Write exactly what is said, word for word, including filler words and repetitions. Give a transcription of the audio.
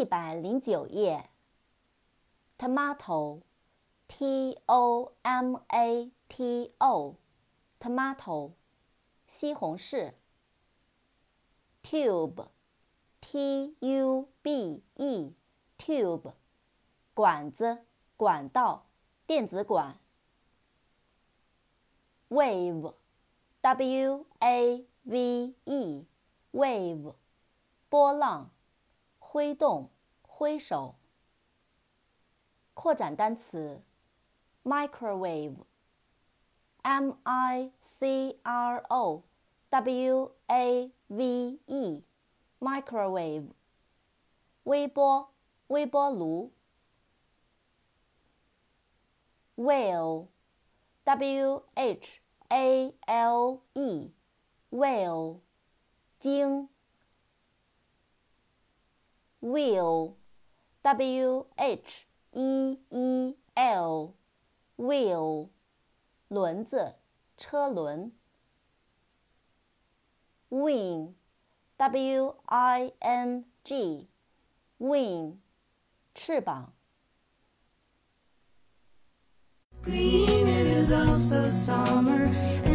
一百零九页 ，tomato, t o m a t o, tomato, 西红柿。tube, t u b e, tube, 管子、管道、电子管。wave, w a v e, wave, 波浪、挥动、挥手。扩展单词 microwave, m i c r o w a v e, microwave, 微波、微波炉。whale, w h a l e, whale, 鲸。wheel, w h e e l, wheel, 轮子、车轮。wing, w i n g, wing, 翅膀。 Green, it is also summer.